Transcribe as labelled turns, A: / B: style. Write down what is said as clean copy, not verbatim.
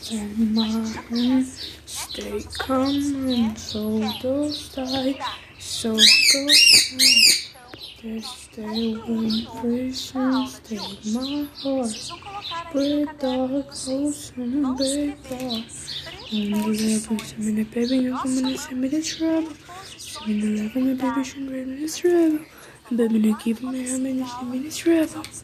A: in my hand, stay calm and so those die, so go on. Stay when visions take my heart, with dark holes and big bar. On the level, send me the baby, no come and send me the trouble. Send me the level, my baby should read me this rebel. And baby, no keep me, I'm in the send me this rebel.